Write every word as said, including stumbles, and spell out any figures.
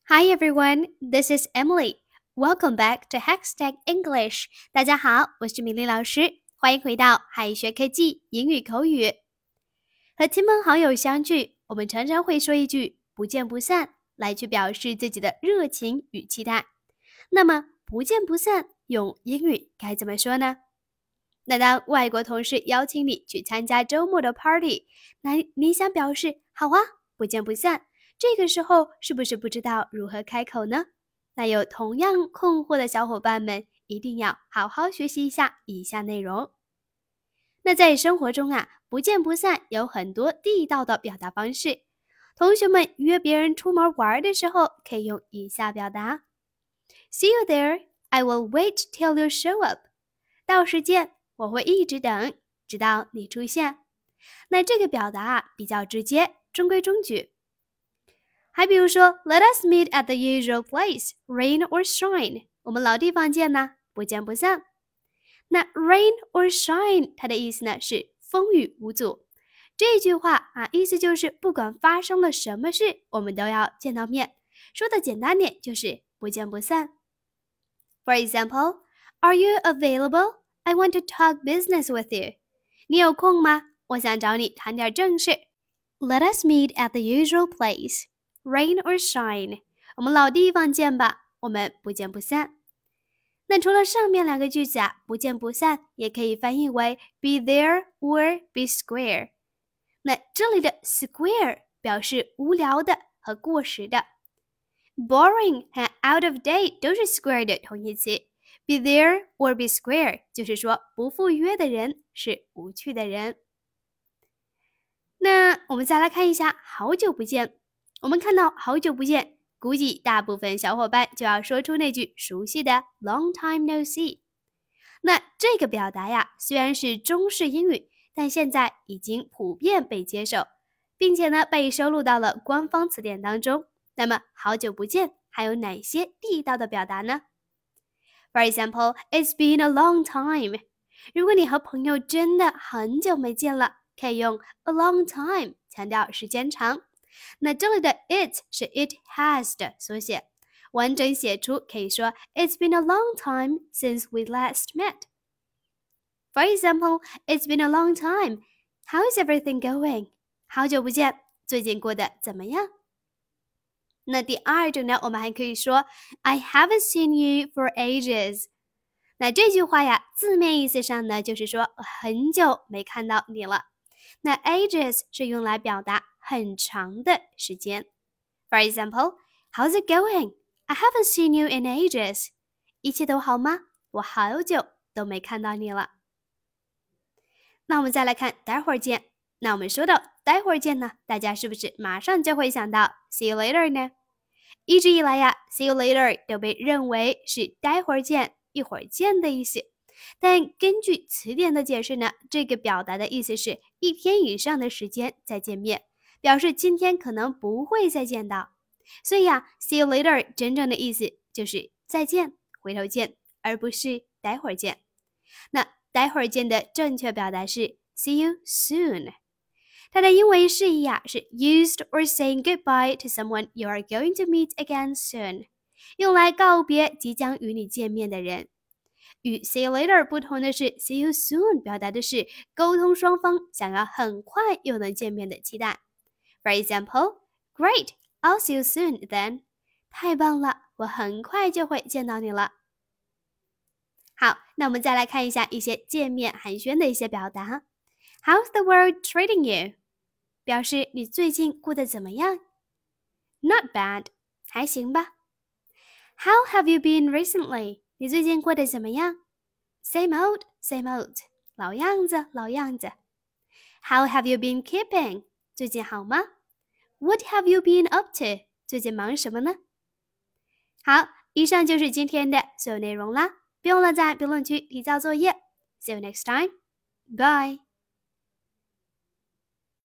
Hi everyone, this is Emily. Welcome back to Hackstack English. 大家好，我是米粒老师，欢迎回到海学科技英语口语。和亲朋好友相聚，我们常常会说一句“不见不散”，来去表示自己的热情与期待。那么“不见不散”用英语该怎么说呢？那当外国同事邀请你去参加周末的 party， 那你想表示“好啊，不见不散”。这个时候是不是不知道如何开口呢？那有同样困惑的小伙伴们，一定要好好学习一下以下内容。那在生活中啊，不见不散有很多地道的表达方式。同学们约别人出门玩的时候，可以用以下表达 ：See you there. I will wait till you show up. 到时见，我会一直等，直到你出现。那这个表达啊，比较直接，中规中矩。还比如说 ，Let us meet at the usual place, rain or shine。我们老地方见呢，不见不散。那 rain or shine， 它的意思呢是风雨无阻。这句话啊，意思就是不管发生了什么事，我们都要见到面。说的简单点，就是不见不散。For example, Are you available? I want to talk business with you. 你有空吗？我想找你谈点正事。Let us meet at the usual place.Rain or shine， 我们老地方见吧，我们不见不散。那除了上面两个句子啊，不见不散也可以翻译为 be there or be square。那这里的 square 表示无聊的和过时的 ，boring 和 out of date 都是 square 的同义词。be there or be square 就是说不赴约的人是无趣的人。那我们再来看一下，好久不见。我们看到好久不见，估计大部分小伙伴就要说出那句熟悉的 long time no see。那这个表达呀，虽然是中式英语，但现在已经普遍被接受，并且呢被收录到了官方词典当中。那么好久不见还有哪些地道的表达呢？ For example, it's been a long time。如果你和朋友真的很久没见了，可以用 a long time 强调时间长。那这里的 it 是 it has 的缩写，完整写出可以说 It's been a long time since we last met. For example, it's been a long time. How is everything going? 好久不见，最近过得怎么样？那第二种呢，我们还可以说 I haven't seen you for ages. 那这句话呀，字面意思上呢，就是说很久没看到你了。那 ages 是用来表达很长的时间。For example, how's it going? I haven't seen you in ages. 一切都好吗？我好久都没看到你了。那我们再来看待会儿见。那我们说到待会儿见呢，大家是不是马上就会想到 see you later 呢？一直以来呀 ，see you later 都被认为是待会儿见、一会儿见的意思。但根据词典的解释呢，这个表达的意思是一天以上的时间再见面，表示今天可能不会再见到。所以啊 ，see you later 真正的意思就是再见、回头见，而不是待会儿见。那待会儿见的正确表达是 see you soon。它的英文释义啊是 used or saying goodbye to someone you are going to meet again soon， 用来告别即将与你见面的人。与 see you later 不同的是 see you soon 表达的是沟通双方想要很快又能见面的期待。For example, Great, I'll see you soon then. 太棒了，我很快就会见到你了。好，那我们再来看一下一些见面寒暄的一些表达。How's the world treating you? 表示你最近过得怎么样？ Not bad, 还行吧。How have you been recently? 你最近过得怎么样？ Same old, same old. 老样子，老样子。How have you been keeping? 最近好吗？ What have you been up to? 最近忙什么呢？好，以上就是今天的所有内容啦。别忘了在评论区提交作业。See you next time. Bye.